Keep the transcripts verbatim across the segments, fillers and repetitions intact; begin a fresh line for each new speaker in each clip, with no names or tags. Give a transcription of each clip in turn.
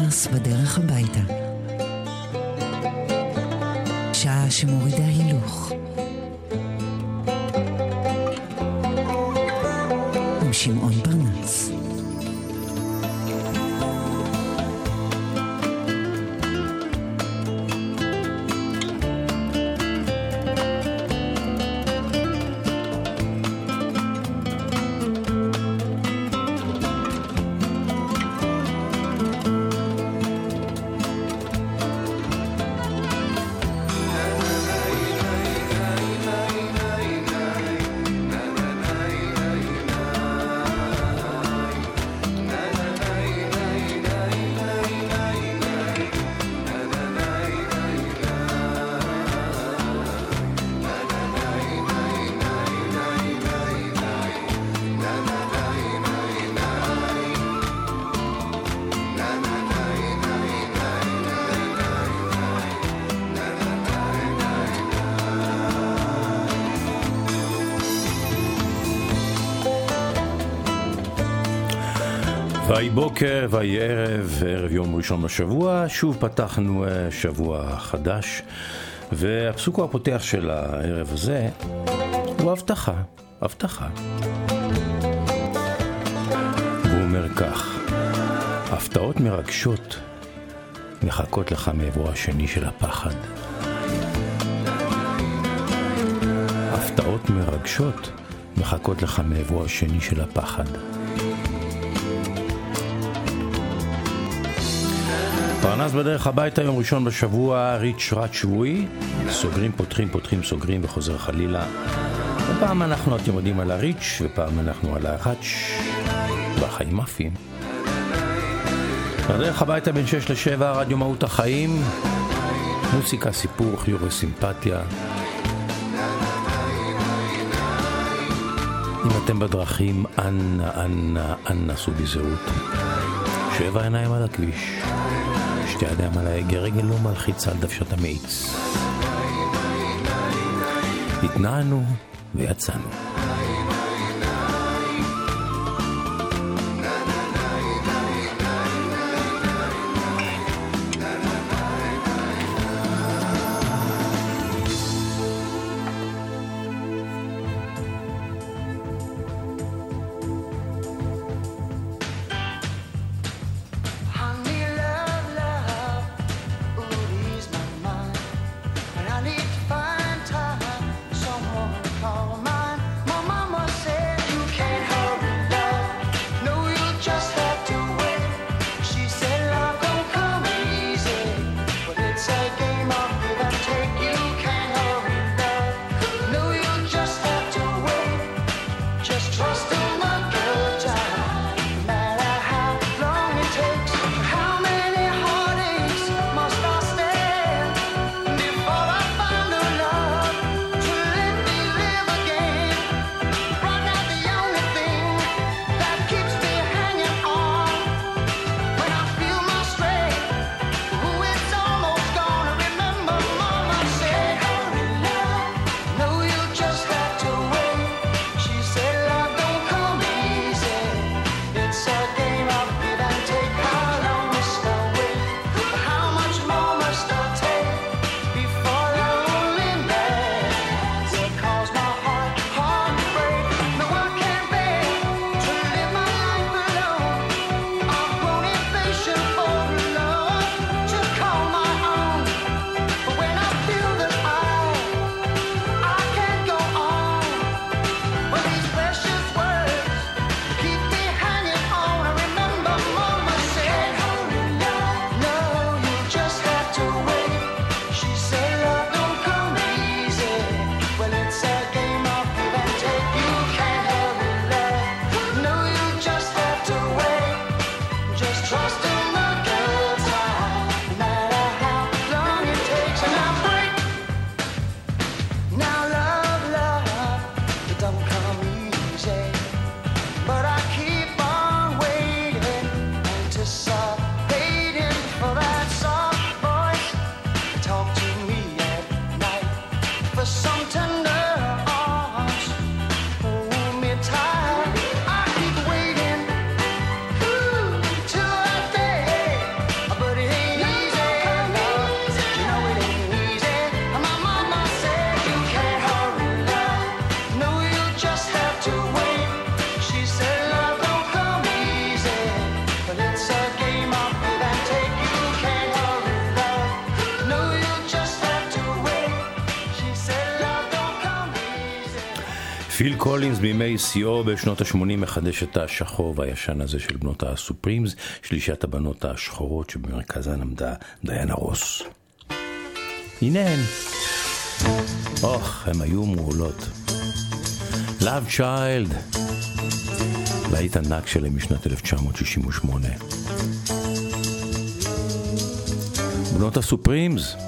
פרנס בדרך הביתה. שעה שמורידה הילוך. עם שמעון פרנס.
ויהי בוקר, ויהי ערב, ערב יום ראשון בשבוע, שוב פתחנו שבוע חדש, והפסוק הפותח של הערב הזה הוא הבטחה, הבטחה. והוא אומר כך: הפתעות מרגשות מחכות לך מעברו השני של הפחד. הפתעות מרגשות מחכות לך מעברו השני של הפחד. פרנס בדרך הביתה, יום ראשון בשבוע, ריץ' רץ שבועי, סוגרים, פותחים, פותחים, סוגרים וחוזר חלילה. ופעם אנחנו, אתם יודעים, על הריץ' ופעם אנחנו על הראץ' והחיים אפים. בדרך הביתה בין שש לשבע, רדיו מהות החיים, מוסיקה, סיפור, חיוך וסימפתיה. אם אתם בדרכים, אנא, אנא, אנא סעו בזהירות. שבע עיניים על הכביש, שתי ידיים על ההגה, רגל לא מלחיצה על דוושת המאיץ. התנענו ויצאנו.
I need to find time, someone call mine.
פיל קולינס בימי שיאו בשנות ה-שמונים מחדש את השחור והישן הזה של בנות הסופרימס, שלישת הבנות השחורות שבמרכזן עמדה דיאנה רוס. הנה הן. אוח, הם היו מעולות. Love Child, להיט ענק שלהם משנת אלף תשע מאות שישים ושמונה. בנות הסופרימס.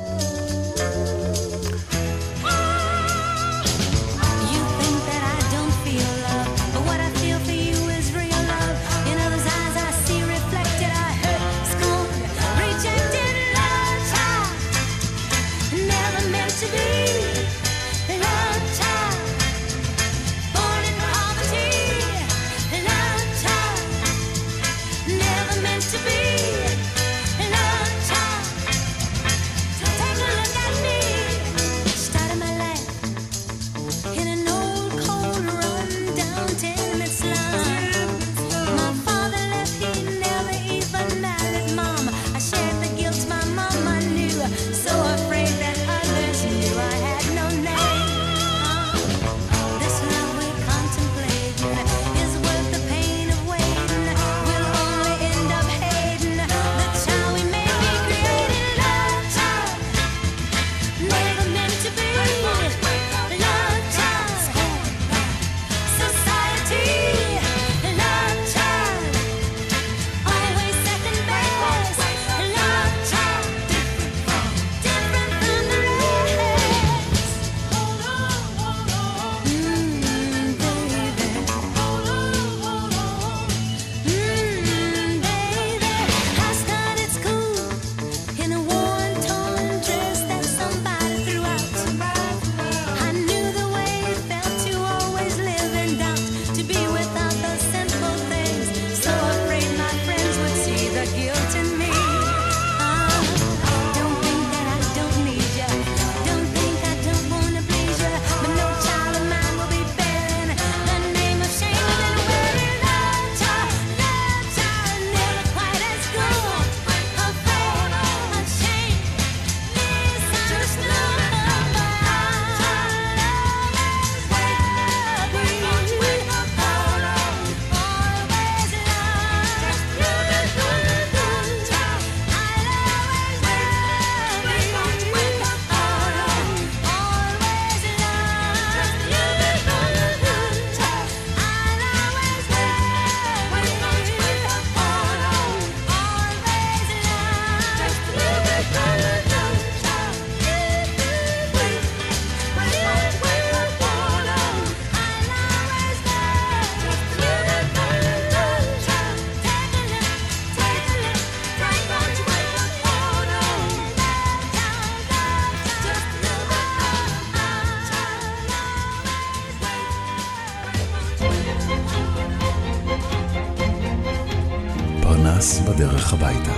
פרנס בדרך הביתה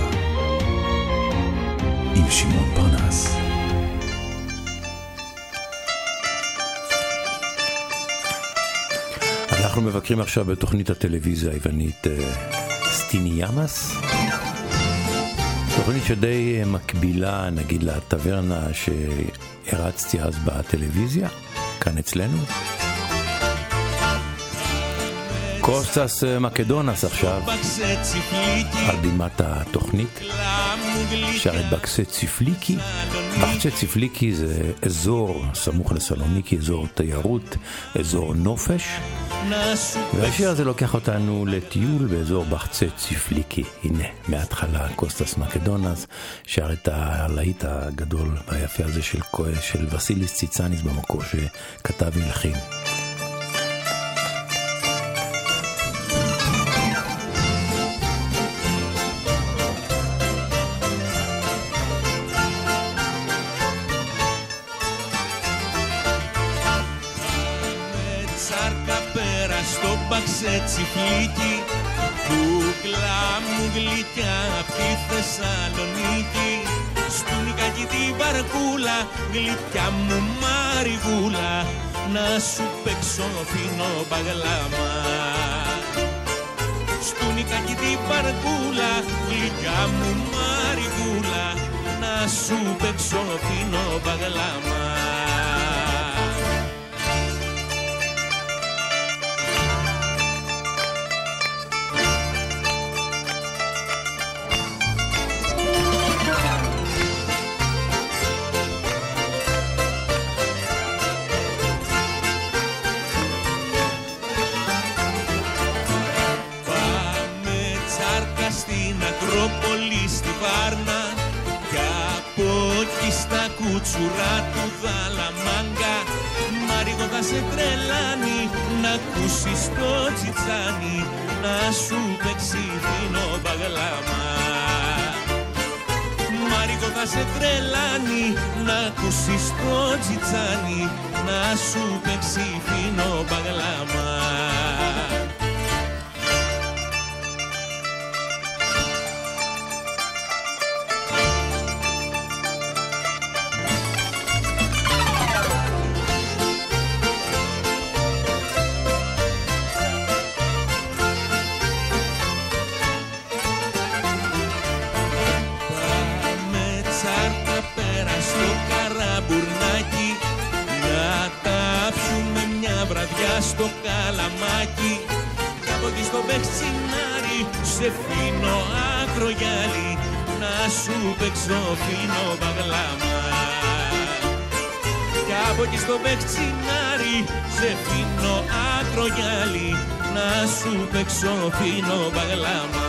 עם שמעון פרנס.
אנחנו מבקרים עכשיו בתוכנית הטלוויזיה היוונית סטיניאמס, תוכנית שדי מקבילה נגיד לטברנה שהרצתי אז בטלוויזיה כאן אצלנו. קוסטס מקדונס עכשיו על בימת התוכנית שר את בקסה ציפליקי. בקסה ציפליקי זה אזור סמוך לסלוניקי, אזור תיירות, אזור נופש, והשיר הזה לוקח אותנו לטיול באזור בקסה ציפליקי. הנה מההתחלה קוסטס מקדונס שר את הלהיט הגדול והיפה הזה של, של וסיליס ציצניס במקור שכתב והלחין.
Τσιφλίκι, κούκλα μου γλυκιά απ' τη Θεσσαλονίκη. Στουν κάκι τη βαρκούλα, γλυκιά μου μαριγούλα, να σου παίξω φίνο παγλάμα. Στουν κάκι τη βαρκούλα, γλυκιά μου μαριγούλα, να σου παίξω φίνο παγλάμα. τσουρά του Δαλαμάγκα. Μάρικο θα σε τρελάνει να ακούσεις το τσιτσάνι, να σου παίξει φίνο μπαγλάμα. Μάρικο θα σε τρελάνει να ακούσεις το τσιτσάνι, να σου παίξει φίνο μπαγλάμα. Στο Καλαμάκι, κάπου εκεί στο Μπεξινάρι, σε φίνο ακρογιάλι, να σου παίξω φίνο παγλάμα. Κάπου εκεί στο Μπεξινάρι, σε φίνο ακρογιάλι, να σου παίξω φίνο παγλάμα.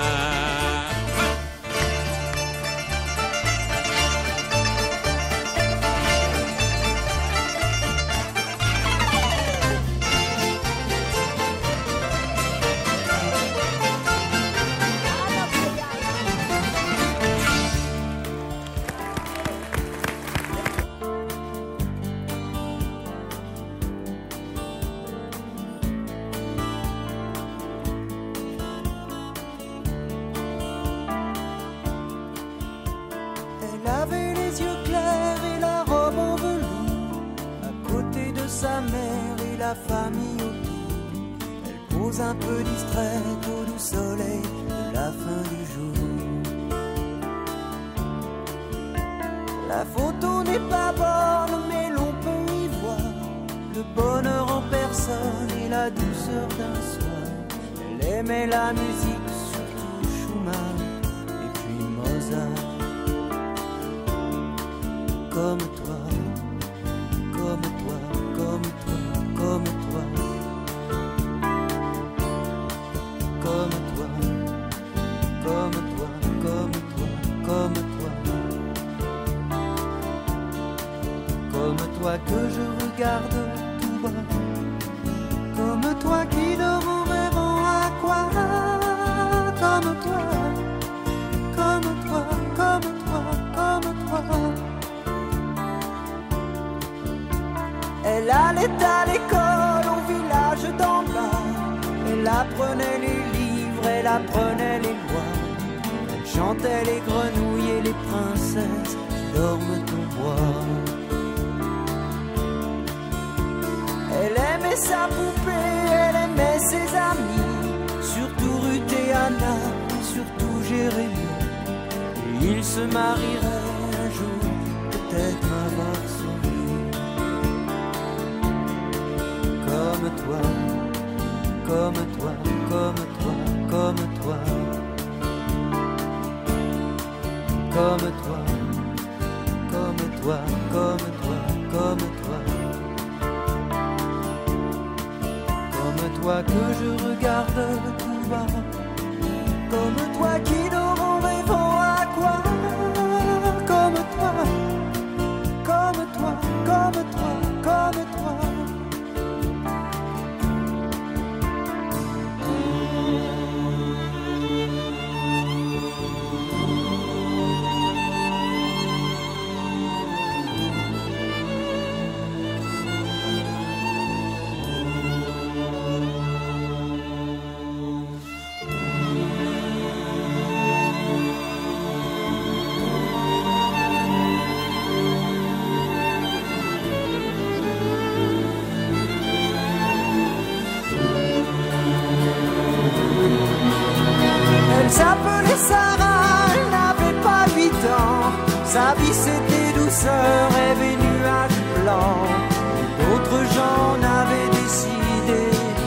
Sa vie c'était douceur, rêve et nuages blancs. D'autres gens n'avaient décidé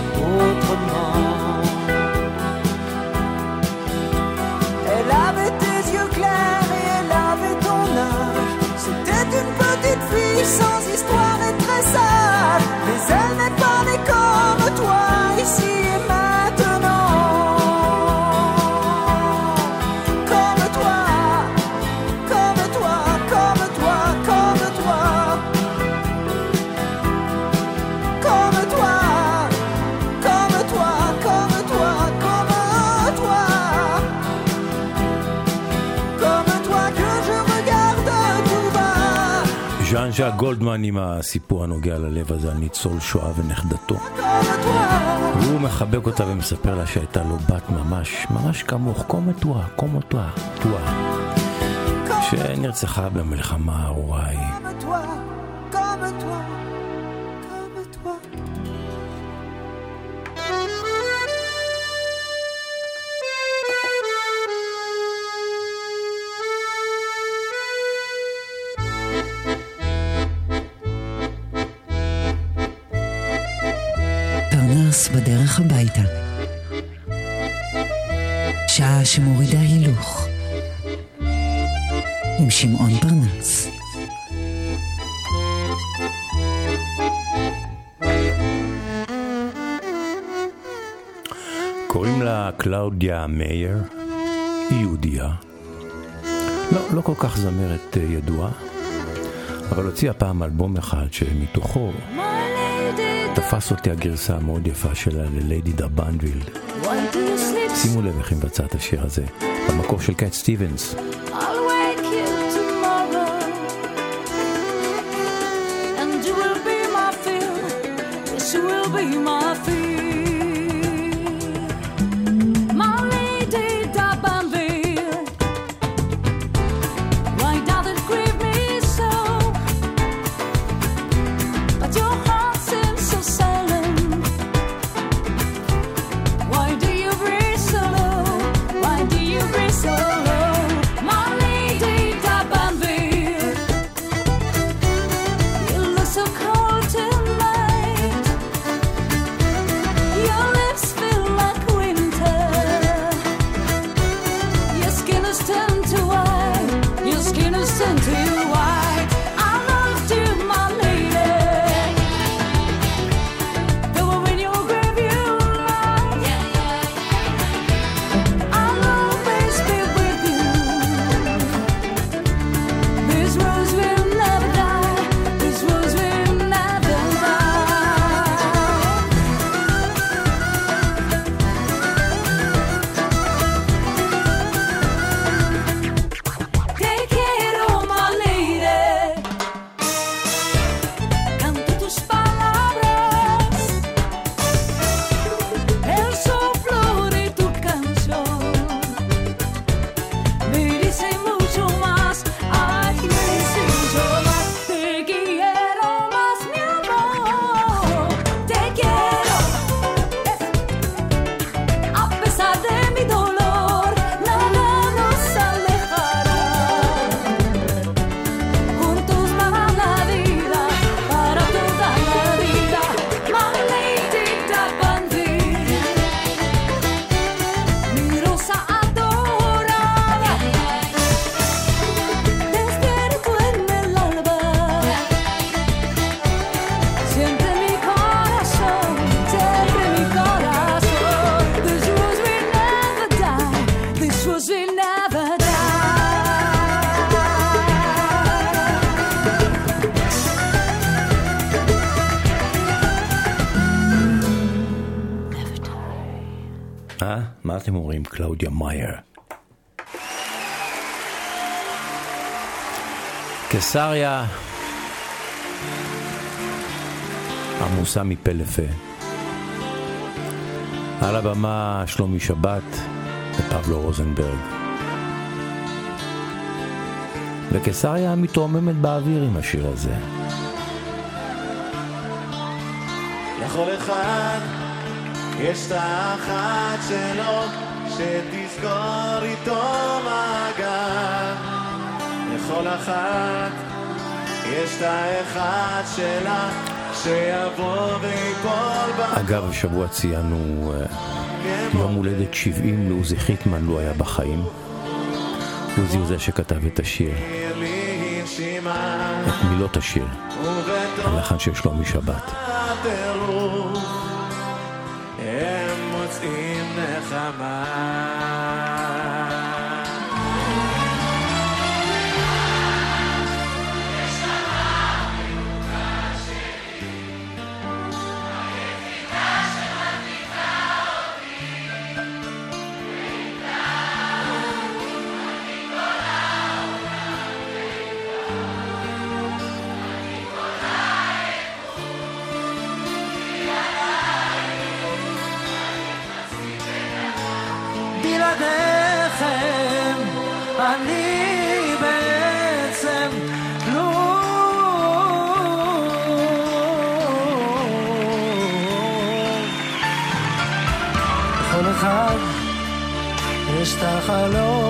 autrement. Elle avait tes yeux clairs et elle avait ton âge. C'était une petite fille sans histoire et très sage. Mais elle n'est pas née comme toi ici et maintenant. Comme toi, comme toi, comme toi, comme
ז'אן ז'אק גולדמן עם הסיפור הנוגע ללב הזה על ניצול שואה ונכדתו. והוא מחבק אותה ומספר לה שהייתה לו בת ממש, ממש כמוך, קומתואה, קומתואה, תואה, שנרצחה במלחמה הארורה ההיא.
פרנס בדרך הביתה. שעה שמורידה הילוך. עם שמעון פרנס.
קוראים לה קלאודיה מאייר, היא יהודיה. לא, לא כל כך זמרת ידועה, אבל הוציאה פעם אלבום אחד שמתוכו תפס אותי הגרסה המאוד יפה שלה לליידי דה בנדוויל. שימו לב איך היא מבצעת את השיר הזה במקור של קאט סטיבנס. מה אתם אומרים? קלאודיה מאייר. קיסריה עמוסה מפה לפה. על הבמה שלומי שבת ופבלו רוזנברג. וקיסריה מתרוממת באוויר עם השיר הזה.
לכל אחד יש את האחת שלו שתזכור איתו מעגל. לכל אחת יש את האחד שלה שיבוא ויפול בה.
אגב, השבוע ציינו יום הולדת שבעים לעוזי חיטמן, לא היה בחיים. עוזי הוא זה שכתב את השיר, את מילות השיר, הלחן של שלומי שבת.
הם מוצאים נחמה.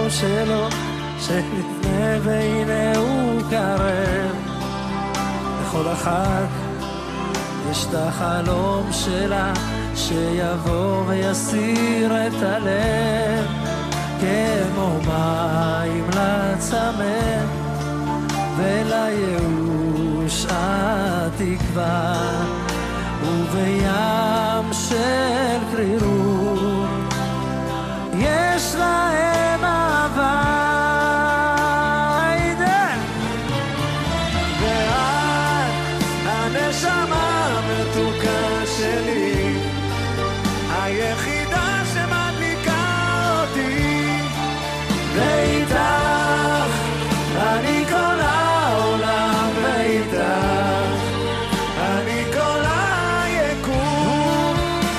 החלום שלו שנפנה והנה הוא קרב. לכל אחת יש את החלום שלה שיבוא ויסיר את הלב, כמו מים לצמא ולייאוש התקווה, ובים של קרירות יש להם אהבה.
ואת הנשמה המתוקה שלי, היחידה שמדליקה אותי, ואיתך אני כל העולם, ואיתך אני כל היקום,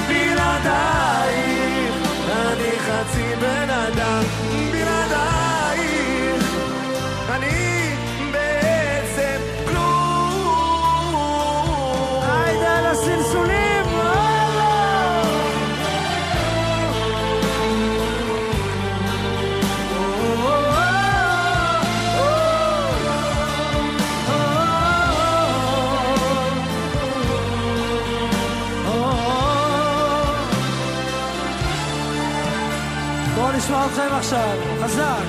בלעדייך אני חצי בן אדם, בלעדייך אני בעצם כלום.
היידה לסלסולים. בואו נשמע אתכם עכשיו, חזק.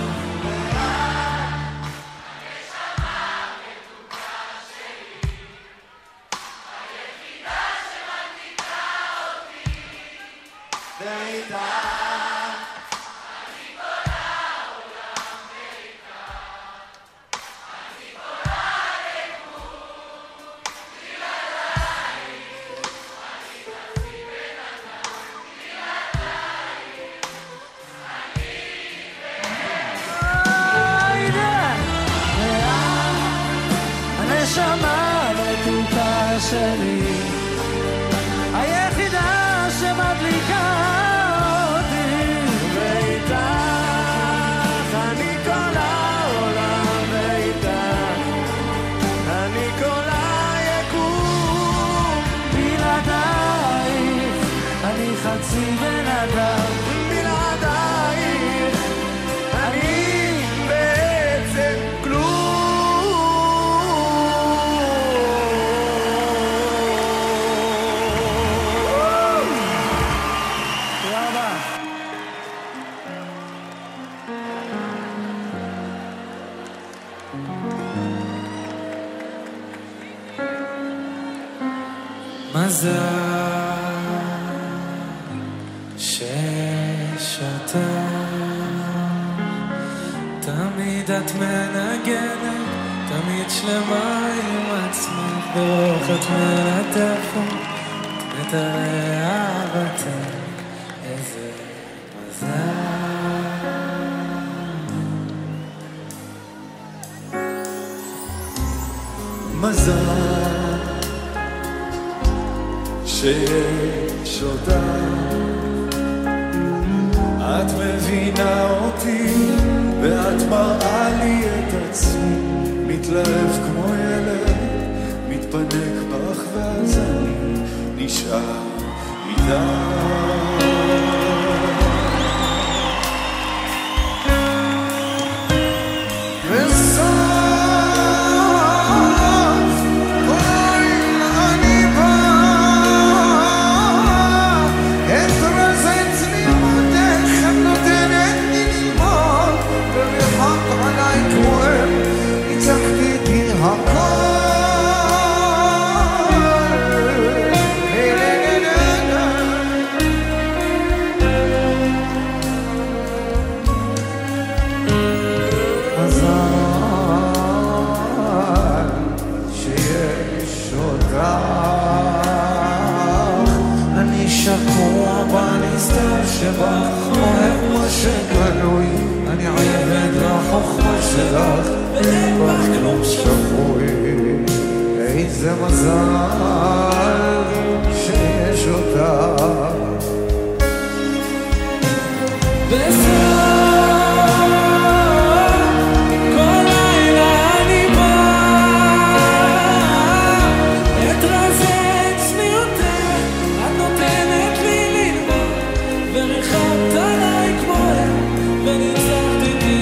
הנשמה המתוקה שלי, היחידה שמדליקה אותי,
ואיתך אני כל העולם, ואיתך אני כל היקום,
בלעדייך אני חצי בן אדם,
בלעדייך אני בעצם כלום.
מזל שיש אותך, תמיד את מנגנת, תמיד שלמה עם עצמך, ברוך את מלטפת, את מטרי אהבתך, איזה מזל.
מזל שיש אותך, את מבינה אותי ואת מראה לי את עצמי, מתלהב כמו ילד, מתפנק בך ואז אני נשאר איתך.
שבך אוהב מה שגלוי, אני עבד לחוכמה שלך, אין בך כלום שפוי. איזה מזל שיש אותך.
וריחמת עליי כמו הם וניצחתי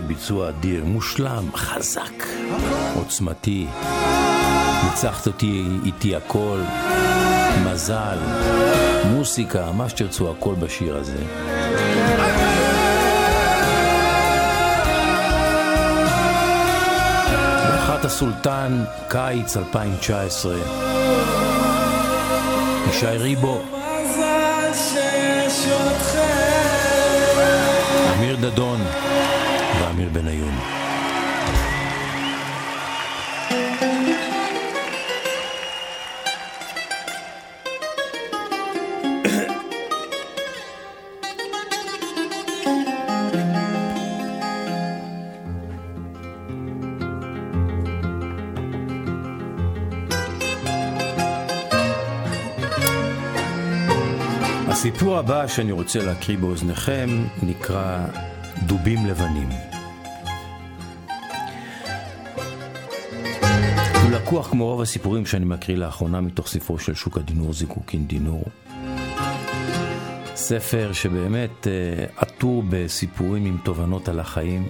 ביצוע אדיר, מושלם, חזק, עוצמתי. ניצחת אותי איתי הכל, מזל, מוסיקה, מה שתרצו, הכל בשיר הזה. ברכת הסולטן, קיץ אלפיים תשע עשרה. ישי ריבו, אמיר דדון ואמיר בניון. הסיפור הבא שאני רוצה להקריא באוזניכם נקרא דובים לבנים. הוא לקוח כמו רוב הסיפורים שאני מקריא לאחרונה מתוך ספרו של שוק הדינור זיקוקין דינור. ספר שבאמת עטור בסיפורים עם תובנות על החיים.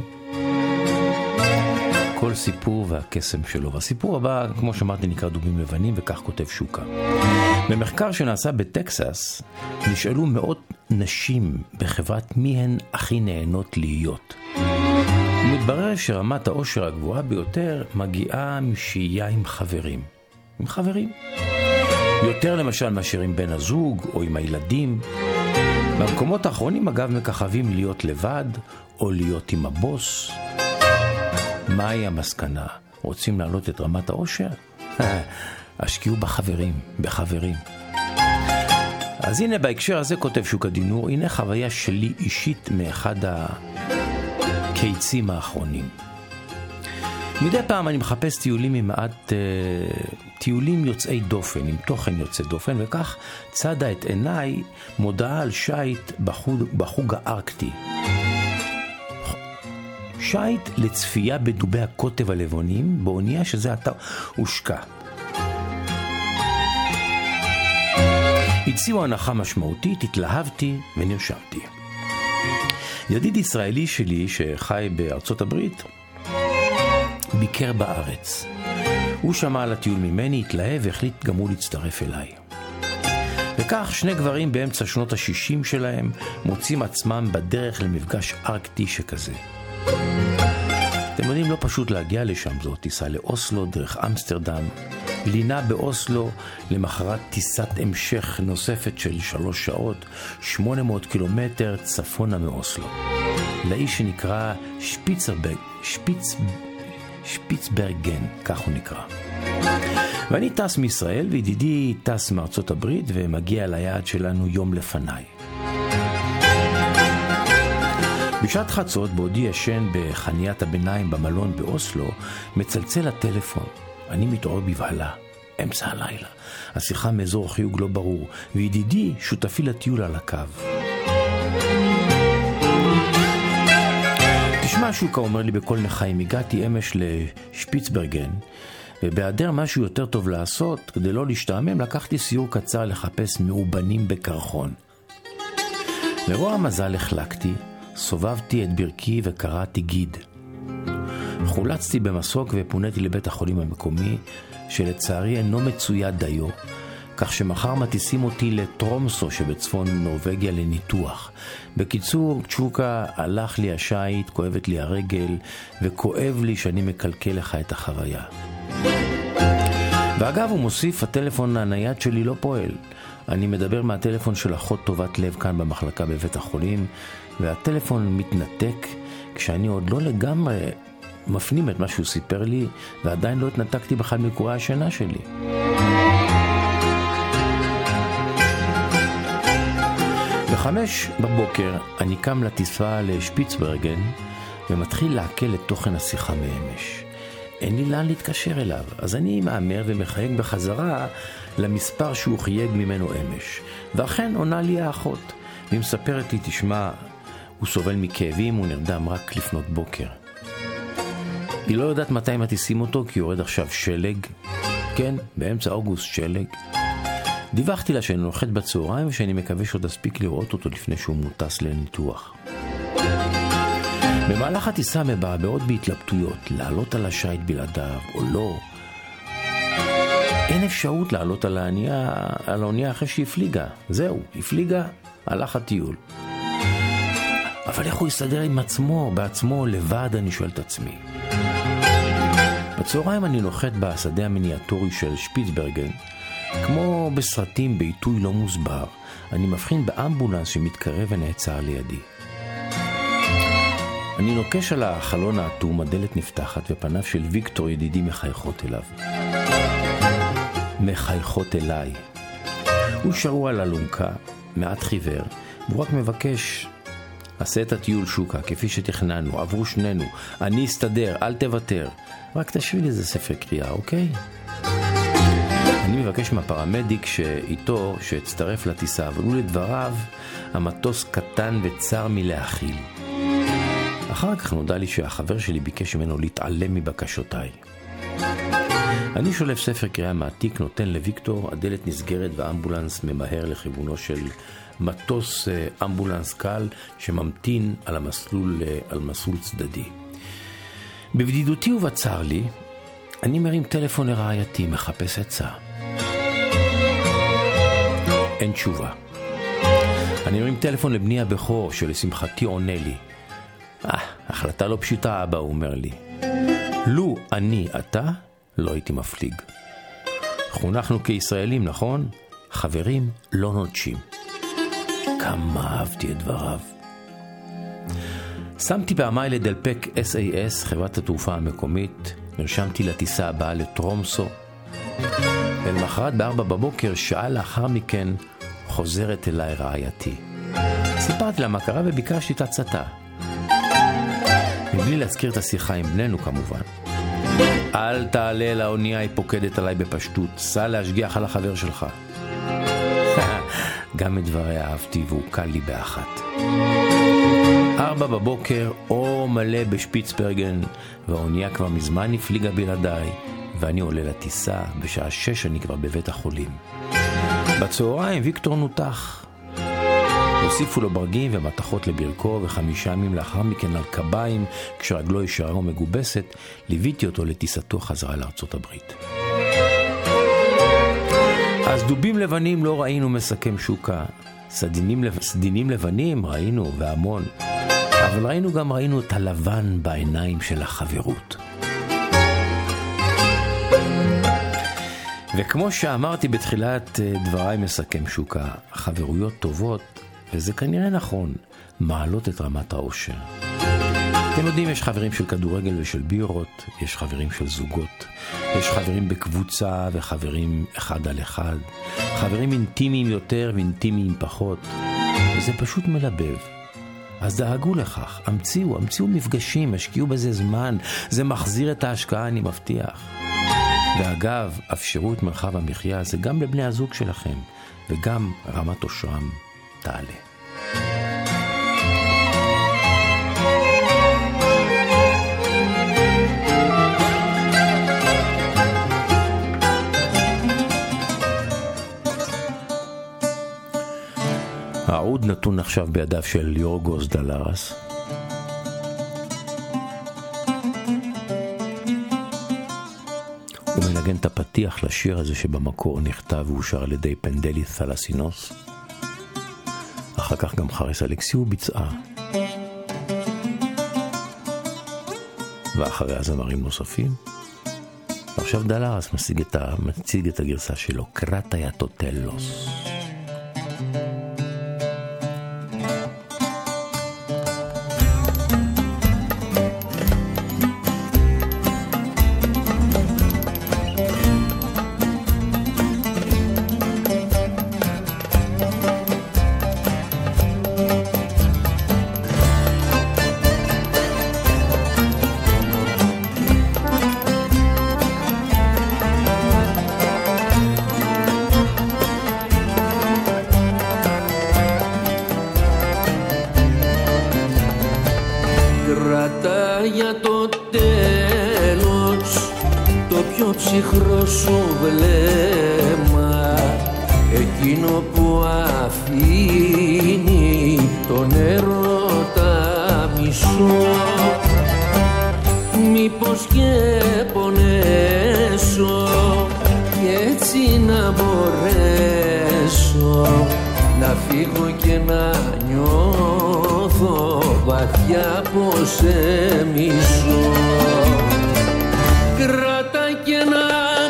כל סיפור והקסם שלו. והסיפור הבא, כמו שאמרתי, נקרא דובים לבנים, וכך כותב שוקה. במחקר שנעשה בטקסס, נשאלו מאות נשים בחברת מי הן הכי נהנות להיות. ומתברר שרמת האושר הגבוהה ביותר מגיעה משהייה עם חברים. עם חברים. יותר למשל מאשר עם בן הזוג או עם הילדים. במקומות האחרונים אגב מככבים להיות לבד או להיות עם הבוס. מהי המסקנה? רוצים להעלות את רמת האושר? השקיעו בחברים, בחברים. אז הנה בהקשר הזה כותב שוק הדינור, הנה חוויה שלי אישית מאחד הקיצים האחרונים. מדי פעם אני מחפש טיולים עם מעט, uh, טיולים יוצאי דופן, עם תוכן יוצא דופן, וכך צדה את עיניי מודעה על שייט בחוג, בחוג הארקטי. שייט לצפייה בדובי הקוטב הלבנים, באונייה שזה עתה הושקע. הציעו הנחה משמעותית, התלהבתי ונרשמתי. ידיד ישראלי שלי שחי בארצות הברית ביקר בארץ. הוא שמע על הטיול ממני, התלהב והחליט גם הוא להצטרף אליי. וכך שני גברים באמצע שנות ה-שישים שלהם מוצאים עצמם בדרך למפגש ארקטי שכזה. אתם יודעים, לא פשוט להגיע לשם, זאת טיסה לאוסלו דרך אמסטרדם, לינה באוסלו, למחרת טיסת המשך נוספת של שלוש שעות, שמונה מאות קילומטר צפונה מאוסלו. לאיש שנקרא שפיצרברג, שפיץ, שפיצברגן, כך הוא נקרא. ואני טס מישראל, וידידי טס מארצות הברית, ומגיע ליעד שלנו יום לפניי. בשעת חצות, בעודי ישן בחניית הביניים במלון באוסלו, מצלצל הטלפון. אני מתעורר בבהלה, אמצע הלילה. השיחה מאזור חיוג לא ברור, וידידי שותפי לטיול על הקו. תשמע, שוקה אומר לי בכל נחיים, הגעתי אמש לשפיצברגן, ובהיעדר משהו יותר טוב לעשות, כדי לא להשתעמם, לקחתי סיור קצר לחפש מאובנים בקרחון. לרוע המזל החלקתי, סובבתי את ברכי וקראתי גיד. חולצתי במסוק ופוניתי לבית החולים המקומי, שלצערי אינו מצויד דיו, כך שמחר מטיסים אותי לטרומסו שבצפון נורווגיה לניתוח. בקיצור, צ'וקה, הלך לי השייט, כואבת לי הרגל, וכואב לי שאני מקלקל לך את החוויה. ואגב, הוא מוסיף, הטלפון הנייד שלי לא פועל. אני מדבר מהטלפון של אחות טובת לב כאן במחלקה בבית החולים, והטלפון מתנתק כשאני עוד לא לגמרי מפנים את מה שהוא סיפר לי, ועדיין לא התנתקתי בכלל מקורי השינה שלי. בחמש בבוקר אני קם לטיסה לשפיצברגן ומתחיל לעכל את תוכן השיחה מאמש. אין לי לאן להתקשר אליו, אז אני מאמר ומחייג בחזרה למספר שהוא חייג ממנו אמש. ואכן עונה לי האחות, והיא מספרת לי, תשמע, הוא סובל מכאבים, הוא נרדם רק לפנות בוקר. היא לא יודעת מתי מטיסים אותו, כי יורד עכשיו שלג. כן, באמצע אוגוסט שלג. דיווחתי לה שאני נוחת בצהריים, ושאני מקווה שעוד אספיק לראות אותו לפני שהוא מוטס לניתוח. במהלך הטיסה מבעבעות בהתלבטויות, לעלות על השייט בלעדיו או לא. אין אפשרות לעלות על האונייה, על האונייה אחרי שהפליגה. זהו, הפליגה, הלך הטיול. אבל איך הוא יסתדר עם עצמו, בעצמו, לבד, אני שואל את עצמי. בצהריים אני נוחת בשדה המיניאטורי של שפיצברגן, כמו בסרטים בעיתוי לא מוסבר. אני מבחין באמבולנס שמתקרב ונעצר לידי. אני נוקש על החלון האטום, הדלת נפתחת ופניו של ויקטור ידידי מחייכות אליו. מחייכות אליי. הוא שרוע על אלונקה, מעט חיוור, והוא רק מבקש, עשה את הטיול שוקה, כפי שתכננו, עברו שנינו, אני אסתדר, אל תוותר. רק תשאיר לי איזה ספר קריאה, אוקיי? אני מבקש מהפרמדיק שאיתו, שהצטרף לטיסה, אבל הוא לדבריו, המטוס קטן וצר מלהכיל. אחר כך נודע לי שהחבר שלי ביקש ממנו להתעלם מבקשותיי. אני שולף ספר קריאה מעתיק, נותן לוויקטור, הדלת נסגרת והאמבולנס ממהר לכיוונו של מטוס אמבולנס קל שממתין על המסלול, על מסלול צדדי. בבדידותי ובצר לי, אני מרים טלפון לרעייתי, מחפש עצה. אין תשובה. אני מרים טלפון לבני הבכור, שלשמחתי עונה לי. אה, החלטה לא פשוטה, אבא, הוא אומר לי. לו אני אתה, לא הייתי מפליג. חונכנו כישראלים, נכון? חברים לא נוטשים. כמה אהבתי את דבריו. שמתי פעמי לדלפק אס איי אס, חברת התעופה המקומית, נרשמתי לטיסה הבאה לטרומסו, ולמחרת בארבע בבוקר, שעה לאחר מכן, חוזרת אליי רעייתי. סיפרתי לה מה קרה וביקשתי את הצתה. מבלי להזכיר את השיחה עם בננו כמובן. אל תעלה לאונייה, היא פוקדת עליי בפשטות, סע להשגיח על החבר שלך. גם את דברי אהבתי והוא קל לי באחת. ארבע בבוקר, אור מלא בשפיצברגן, והאונייה כבר מזמן הפליגה בלעדיי, ואני עולה לטיסה, בשעה שש אני כבר בבית החולים. בצהריים ויקטור נותח. הוסיפו לו ברגים ומתחות לברכו, וחמישה ימים לאחר מכן על קביים, כשרגלו ישרה ומגובסת, ליוויתי אותו לטיסתו חזרה לארצות הברית. אז דובים לבנים לא ראינו, מסכם שוקה. סדינים, סדינים לבנים ראינו והמון, אבל ראינו גם ראינו את הלבן בעיניים של החברות. וכמו שאמרתי בתחילת דבריי, מסכם שוקה, חברויות טובות, וזה כנראה נכון, מעלות את רמת האושר. אתם יודעים, יש חברים של כדורגל ושל בירות, יש חברים של זוגות, יש חברים בקבוצה וחברים אחד על אחד, חברים אינטימיים יותר ואינטימיים פחות, וזה פשוט מלבב. אז דאגו לכך, המציאו, המציאו מפגשים, השקיעו בזה זמן, זה מחזיר את ההשקעה, אני מבטיח. ואגב, אפשרו את מרחב המחיה, זה גם לבני הזוג שלכם, וגם רמת אושרם תעלה. העוד נתון עכשיו בידיו של יורגוס דלרס. הוא מנגן את הפתיח לשיר הזה שבמקור נכתב ואושר על ידי פנדלי תלסינוס. אחר כך גם חריס אלכסיו ביצעה. ואחריה זמרים נוספים. ועכשיו דלרס מציג את, ה... מציג את הגרסה שלו, קרטיה טוטלוס.
Για το τέλος το πιο ψυχρό σου βλέμμα, εκείνο που αφήνει τον έρωτα μη μισώ, μήπως και πονέσω κι έτσι να μπορέσω να φύγω και να νιώθω βαθιά πως σε μισώ. Κράτα και ένα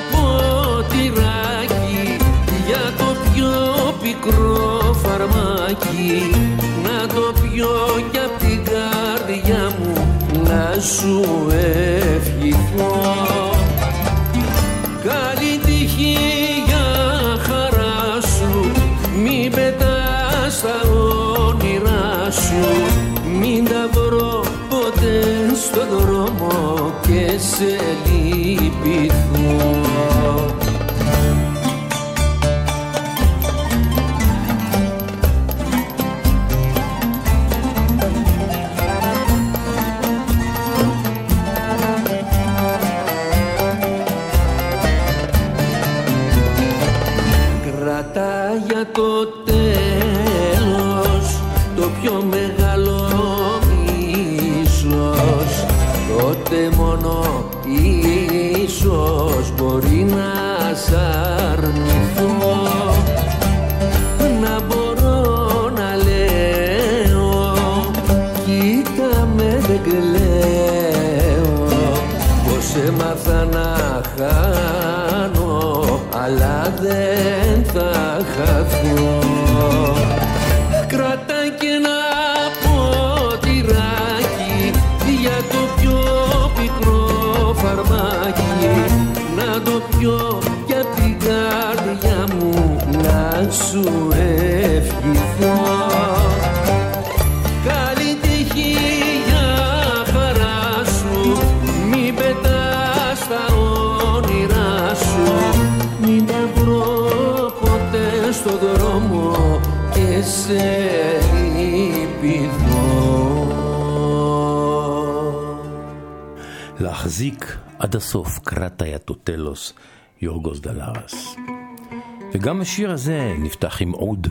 ποτηράκι για το πιο πικρό φαρμάκι, να το πιω κι απ' την καρδιά μου να σου ευχηθώ. Καλή τύχη για χαρά σου, μην πετάς τα όνειρά σου, μην τα βρω ποτέ στον δρόμο και σε λυπηθώ. Για το τέλος το πιο μεγάλο ίσως, τότε μόνο ίσως μπορεί να σ' αρνηθώ. Να μπορώ να λέω κοίτα με δεν κλαίω, πως έμαθα να χάνω αλλά δεν θα χαθώ. Κράτα και ένα ποτηράκι για το πιο πικρό φαρμάκι, να το πιω κι απ' την καρδιά μου να σου ευχηθώ. Καλή τύχη για χαρά σου, μην πετάς τα όνειρά σου, μην τα βρω ποτέ στο δρόμο και σε λυπηθώ.
להחזיק עד הסוף, קראת היתוטלוס, יורגוס דלרס. וגם השיר הזה נפתח עם עוד.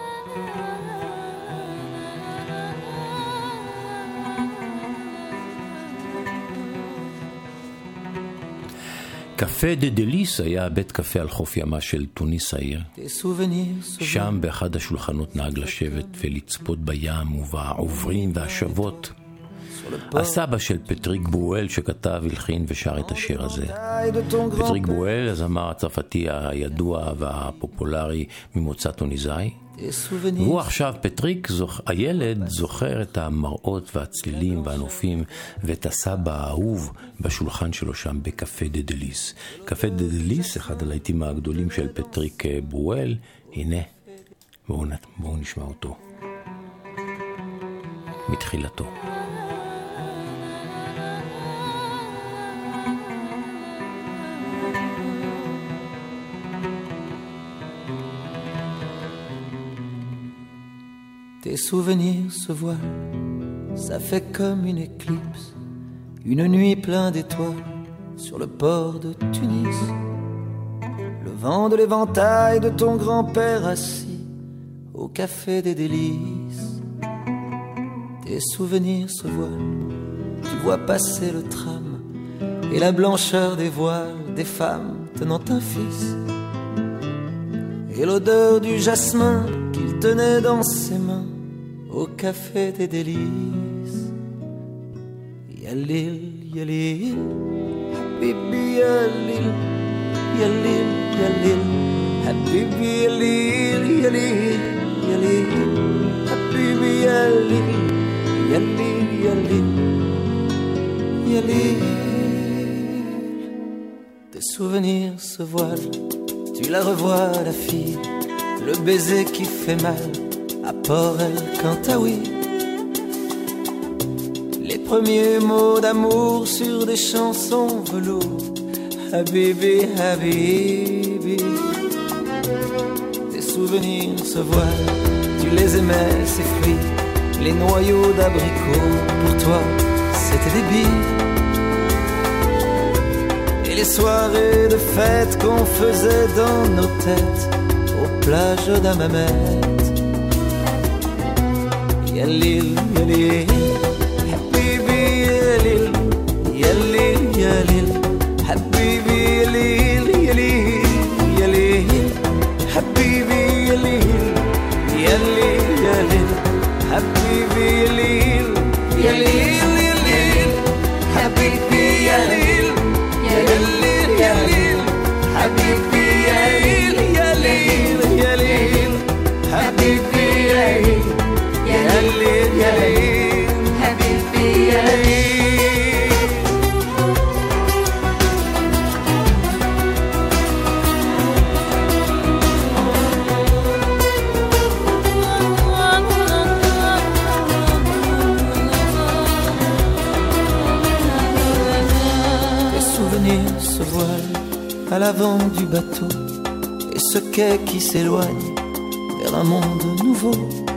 קפה דה דליס היה בית קפה על חוף ימה של טוניס העיר. שם באחד השולחנות נהג לשבת ולצפות בים ובעוברים והשבות. הסבא של פטריק ברואל שכתב, הלחין ושר את השיר הזה. פטריק ברואל, הזמר הצרפתי הידוע והפופולרי ממוצא טוניסאי. והוא עכשיו, פטריק, זוכ... הילד זוכר את המראות והצלילים והנופים ואת הסבא האהוב בשולחן שלו שם בקפה דה דליס. קפה דה דליס, אחד הלהיטים הגדולים של פטריק ברואל. הנה, בואו, בואו נשמע אותו מתחילתו.
Tes souvenirs se voilent, ça fait comme une éclipse, une nuit pleine d'étoiles sur le port de Tunis. Le vent de l'éventail de ton grand-père assis au café des délices. Tes souvenirs se voilent, tu vois passer le tram et la blancheur des voiles des femmes tenant un fils. Et l'odeur du jasmin qu'il tenait dans ses mains au café des délices. Yalil, yalil, habibi yalil, yalil, yalil, habibi yalil, yalil, yalil, habibi yalil, yalil, yalil, yalil. Tes souvenirs se voilent, tu la revois la fille, le baiser qui fait mal à Port El Kantaoui. Les premiers mots d'amour sur des chansons velours. Habibi, Habibi. Tes souvenirs se voilent, tu les aimais, ces fruits, les noyaux d'abricots. Pour toi, c'était des billes. Et les soirées de fête qu'on faisait dans nos têtes aux plages d'Hammamet. Yalil, yalil, retenir ce voile à l'avant du bateau et ce quai qui s'éloigne vers un monde nouveau.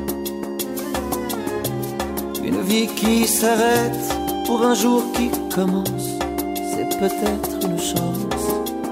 Une vie qui s'arrête pour un jour qui commence, c'est peut-être une chance.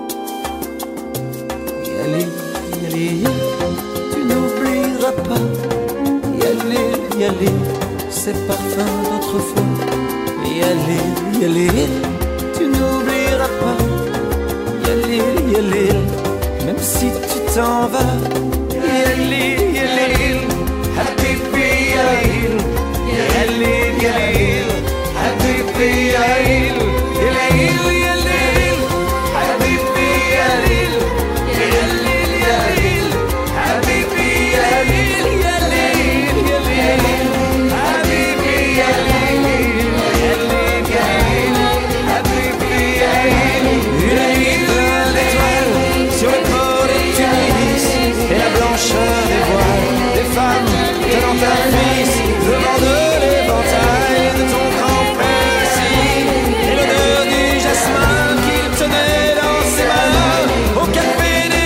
Yali, yali, tu n'oublieras pas. Yali, yali, ces parfums d'autrefois. Yali, yali, tu n'oublieras pas. Yali, yali, même si tu t'en vas. Yali, yali, habibi yali, yali, yali, habibi yali, yali, yali, habibi yali, yali, yali, habibi yali, yali, yali, habibi yali, yali, yali, habibi yali. Plein d'étoiles sur le port de Tunis et la blancheur des voiles des femmes tenant un fils, le vent de l'éventail de ton grand-père ici et l'odeur du jasmin qu'il tenait dans ses mains au café des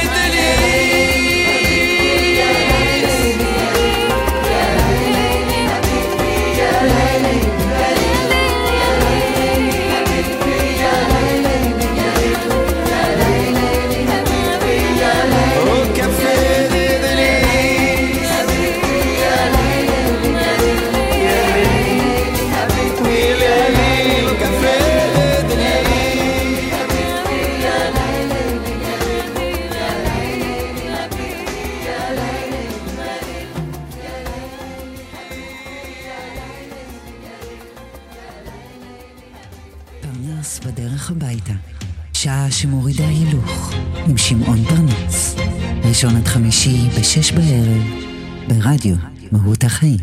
פרנס בדרך הביתה, שעה שמורידה הילוך, עם שמעון פרנס. ראשון עד חמישי בשש בערב, ברדיו מהות החיים.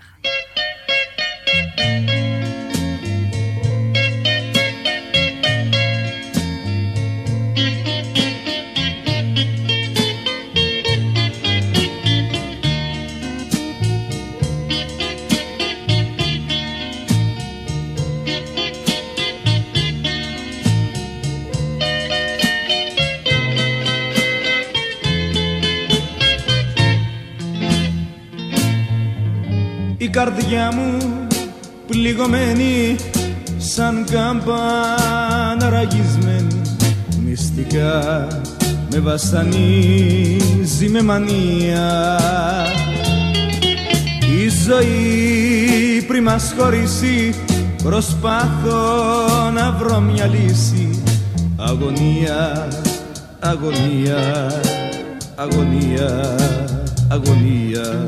Η καρδιά μου πληγωμένη σαν κάμπανα ραγισμένη, μυστικά με βασανίζει με μανία. Η ζωή πριν μας χωρίσει προσπάθω να βρω μια λύση. Αγωνία, αγωνία, αγωνία, αγωνία.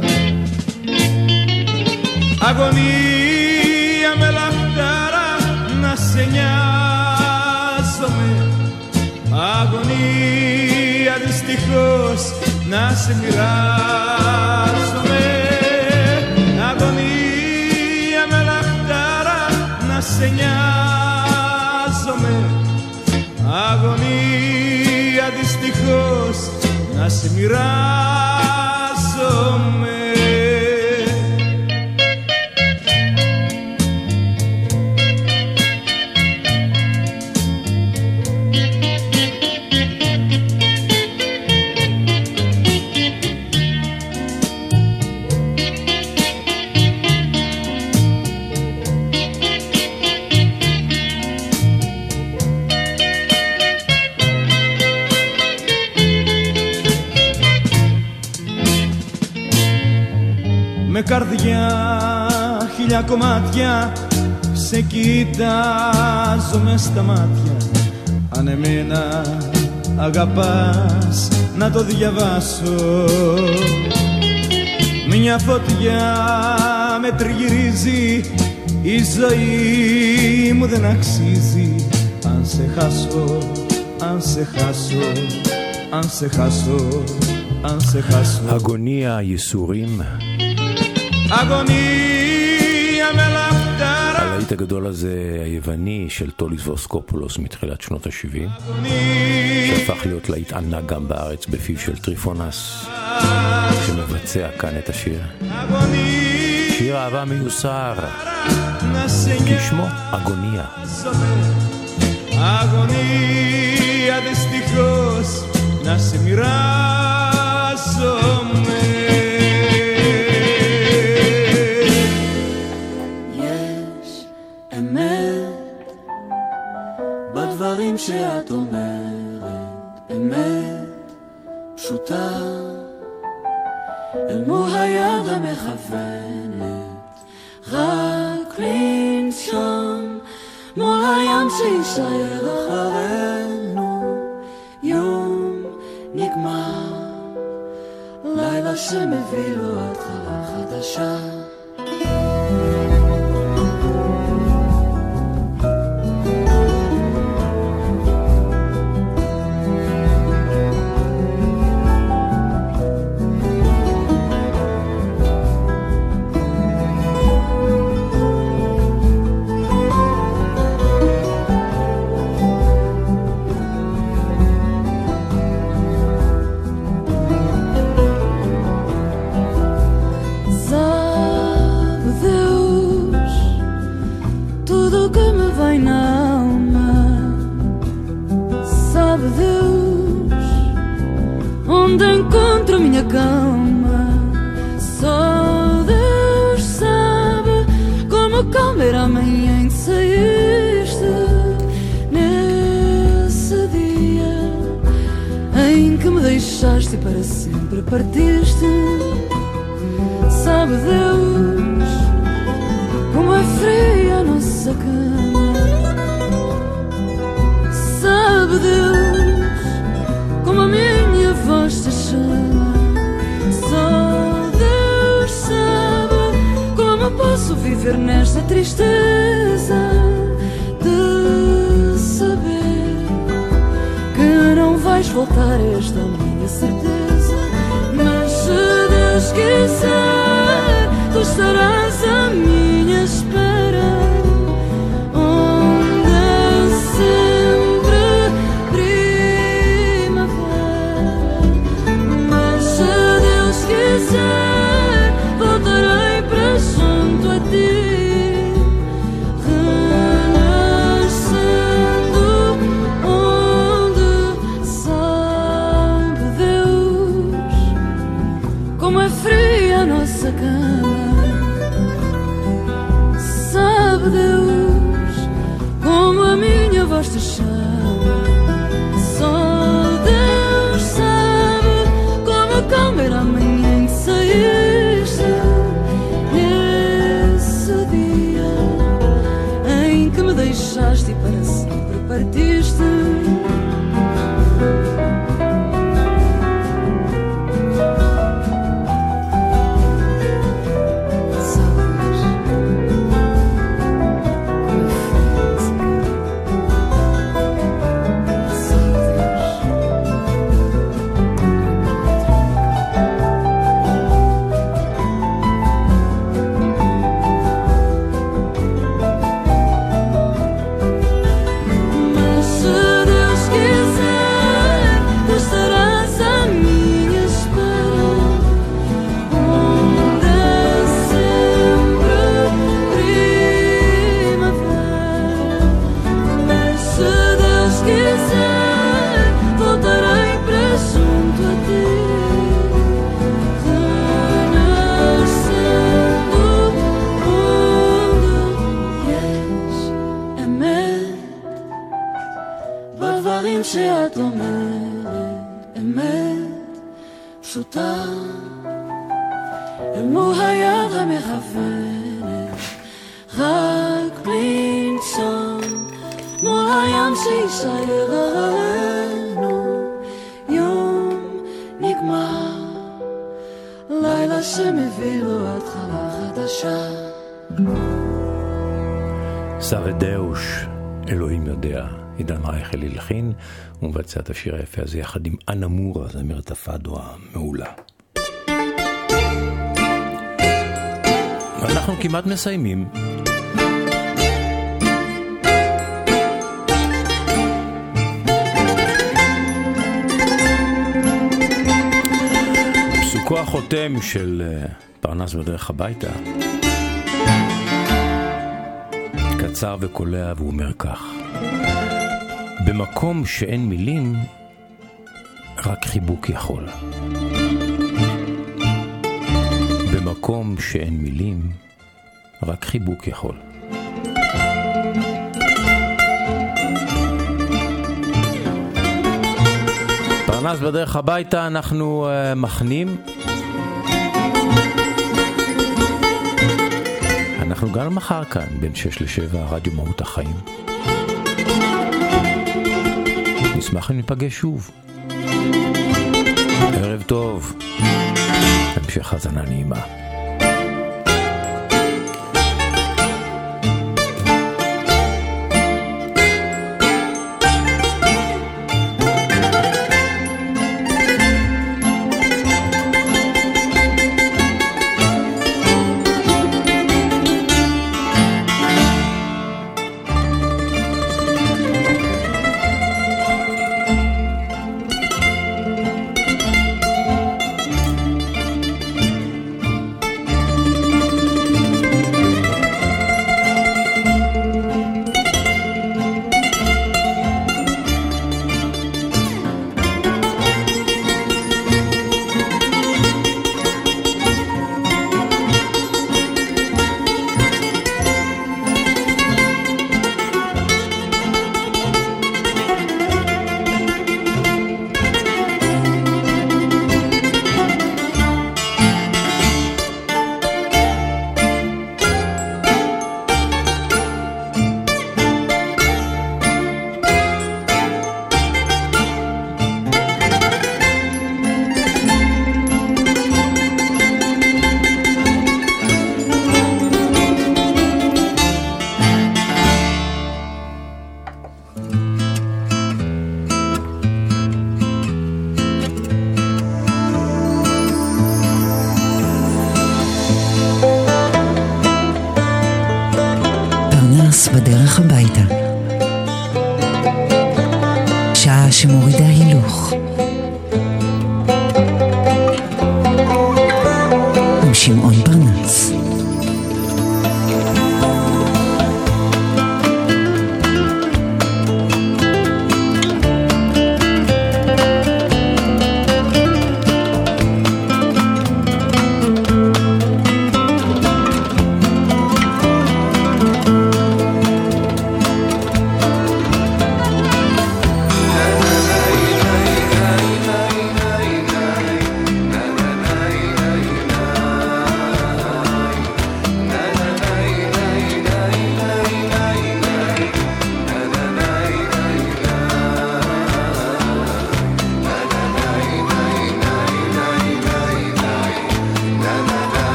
Αγωνία με λαχτάρα να σε νοιάζομαι. Αγωνία δυστυχώς να σε μοιράζομαι. Αγωνία με λαχτάρα να σε νοιάζομαι. Αγωνία δυστυχώς να σε μοιράζομαι. Με καρδιά χίλια κομμάτια σε κοιτάζω μες στα μάτια. Αν εμένα αγαπάς να το διαβάσω. Μια φωτιά με τριγυρίζει, η ζωή μου δεν αξίζει. Αν σε χάσω, αν σε χάσω, αν σε χάσω, αν σε χάσω.
Αγωνία ייסורים.
אגוניה מלאכתרה.
הלהיט הגדול הזה היווני של טוליס ווסקופולוס מתחילת שנות ה-שבעים, שהפך להיות להיט ענק גם בארץ בפיו של טריפונס, שמבצע כאן את השיר. שיר אהבה מיוסר, כי שמו אגוניה.
αγωνία δυστυχώς να σε μοιράζομαι.
יש אמת בדברים שאת אומרת, אמת פשוטה אל מול היד המכוונת, רק לנשום מול הים שישאר אחרינו. יום נגמר, לילה שמביא לו התחלה חדשה. Para sempre partiste, sabe Deus como é fria a nossa cama, sabe Deus como a minha voz te chama, só Deus sabe como posso viver nesta tristeza de saber que não vais voltar a esta minha certeza. Mas se Deus quiser, tu estarás à minha espera, onde é sempre primavera. Mas se Deus quiser, voltarei para junto a ti, sabe Deus como a minha voz te chama, só Deus sabe como calma era a manhã em que saíste, nesse dia em que me deixaste e para sempre partiste. שאת אומרת אמת פשוטה אל מול היד המכוונת, רק בלי נשום מול הים שישאר עלינו. יום נגמר, לילה שמביא לו התחלה חדשה.
סבדאוש, אלוהים יודע. עידן רייכל הלחין, הוא מבצע את השיר היפה הזה יחד עם אנה מורה, זמרת הפאדו המעולה. אנחנו כמעט מסיימים. פסוקו החותם של פרנס בדרך הביתה קצר וקולע והוא אומר כך: במקום שאין מילים, רק חיבוק יכול. במקום שאין מילים, רק חיבוק יכול. פרנס בדרך הביתה, אנחנו uh, מכנים. אנחנו גם מחר כאן, בין שש לשבע, רדיו מהות החיים. נשמח אם ניפגש שוב. ערב טוב. המשך האזנה נעימה.
בדרך הביתה. שעה שמורידה הילוך. עם שמעון